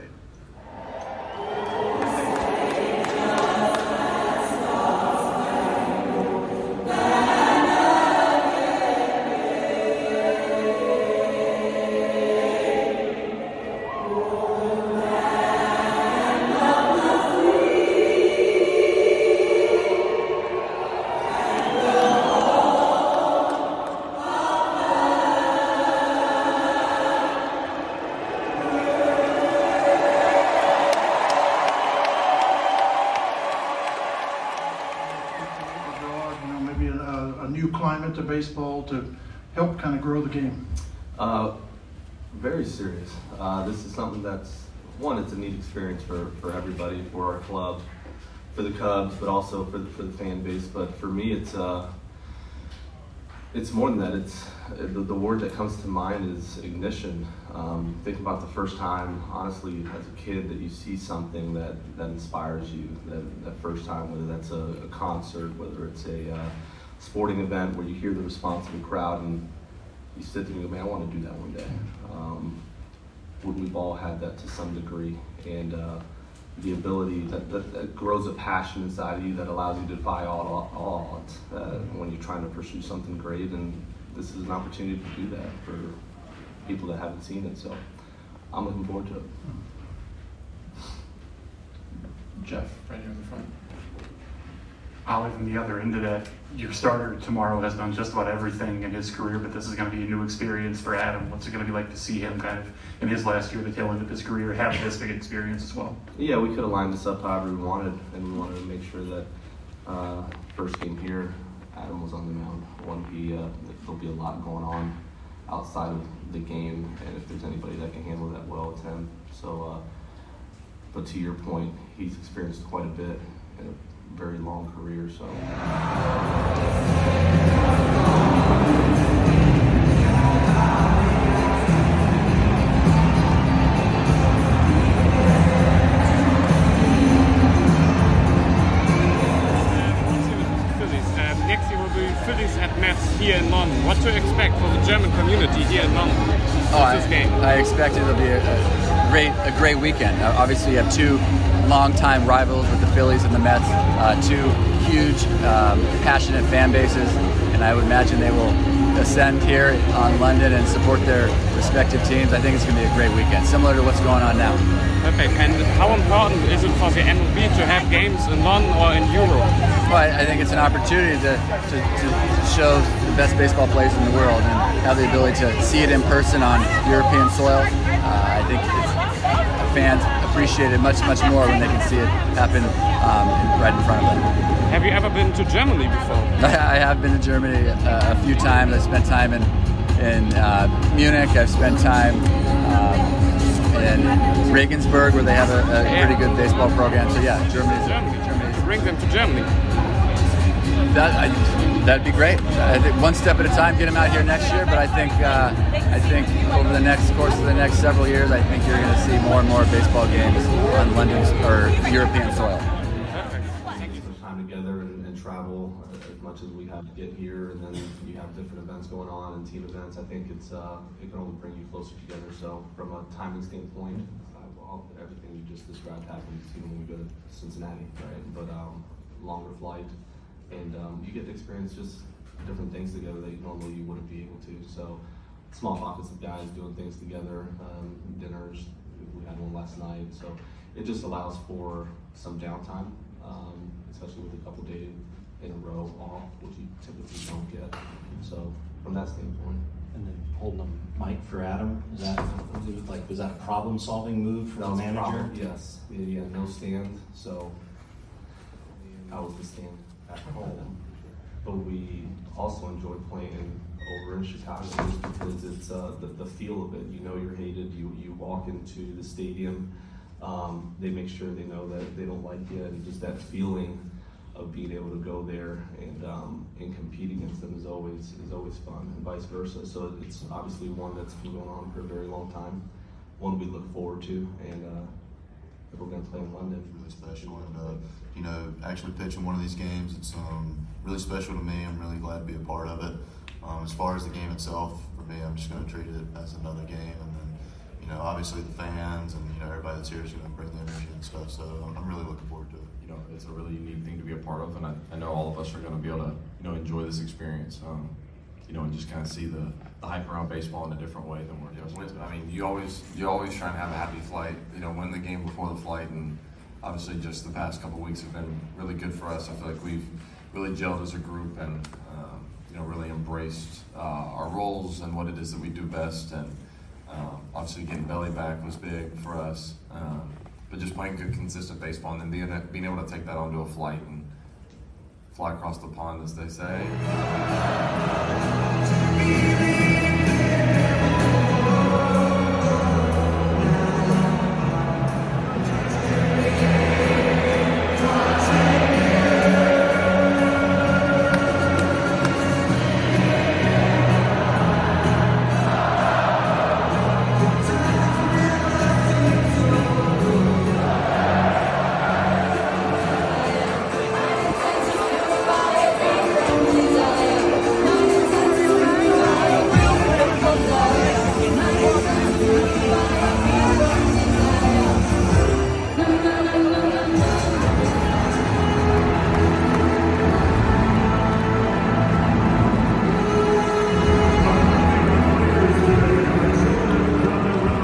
To baseball to help kind of grow the game? Uh, very serious. Uh, this is something that's, one, it's a neat experience for, for everybody, for our club, for the Cubs, but also for the, for the fan base. But for me, it's uh, it's more than that. It's the, the word that comes to mind is ignition. Um, think about the first time, honestly, as a kid, that you see something that, that inspires you. That, that first time, whether that's a, a concert, whether it's a uh, sporting event where you hear the response of the crowd and you sit there and go, man, I want to do that one day. Um, we've all had that to some degree. And uh, the ability that, that, that grows a passion inside of you that allows you to defy all, all odds uh, when you're trying to pursue something great. And this is an opportunity to do that for people that haven't seen it. So I'm looking forward to it. Jeff, right here in the front. Olive, on the other end of that, your starter tomorrow has done just about everything in his career, but this is going to be a new experience for Adam. What's it going to be like to see him kind of in his last year, the tail end of his career, have this big experience as well? Yeah, we could have lined this up however we wanted, and we wanted to make sure that uh, first game here, Adam was on the mound. One, he, uh, there'll be a lot going on outside of the game, and if there's anybody that can handle that well, it's him. So, uh, but to your point, he's experienced quite a bit in a very long career, so. Next year will be Phillies at Mets here in London. What to expect for the German community here in London? Oh, I, I expect it'll be a, a great, a great weekend. Uh, obviously, you have two longtime rivals with the Phillies and the Mets, uh, two huge, um, passionate fan bases, and I would imagine they will ascend here on London and support their respective teams. I think it's going to be a great weekend, similar to what's going on now. Perfect. And how important is it for the M L B to have games in London or in Europe? Well, I, I think it's an opportunity to, to, to show the best baseball players in the world and have the ability to see it in person on European soil. Uh, I think it's, fans appreciate it much, much more when they can see it happen um, right in front of them. Have you ever been to Germany before? I have been to Germany uh, a few times. I spent time in, in uh, Munich. I've spent time um, in Regensburg, where they have a, a pretty good baseball program. So yeah, Germany's Germany. Germany. Bring them to Germany. That I, that'd be great. I think one step at a time, get them out here next year. But I think uh, I think over the next course of the next several years, I think you're going to see more and more baseball games on London's or European soil. Time together and, and travel as much as we have to get here, and then you have different events going on and team events. I think it's uh, it can only bring you closer together. So from a timing standpoint, uh, well, everything you just described happens even when we go to Cincinnati, right? But um, longer flight. And um, you get to experience just different things together that normally you wouldn't be able to. So small pockets of guys doing things together, um, dinners, we had one last night. So it just allows for some downtime, um, especially with a couple days in a row off, which you typically don't get. So from that standpoint. And then holding a mic for Adam, is that like was that a problem-solving move for the manager? Yes, yeah, yeah, no stand. So I was the stand at home, but we also enjoy playing over in Chicago just because it's uh, the, the feel of it. You know you're hated. You you walk into the stadium, um, they make sure they know that they don't like you, and just that feeling of being able to go there and um, and compete against them is always is always fun, and vice versa. So it's obviously one that's been going on for a very long time, one we look forward to, and uh, we're going to play in London. Really special, and uh, you know, actually pitching one of these games, it's um, really special to me. I'm really glad to be a part of it. Um, as far as the game itself, for me, I'm just going to treat it as another game, and then, you know, obviously the fans and you know everybody that's here is going to bring the energy and stuff. So I'm, I'm really looking forward to it. You know, it's a really unique thing to be a part of, and I, I know all of us are going to be able to, you know, enjoy this experience. Um, you know, and just kind of see the, the hype around baseball in a different way than we're used to. I mean, you always you always try and have a happy flight. You know, win the game before the flight, and obviously just the past couple of weeks have been really good for us. I feel like we've really gelled as a group, and um, you know, really embraced uh, our roles and what it is that we do best. And um, obviously, getting Belly back was big for us. Um, but just playing good, consistent baseball, and then being being able to take that onto a flight and fly across the pond, as they say.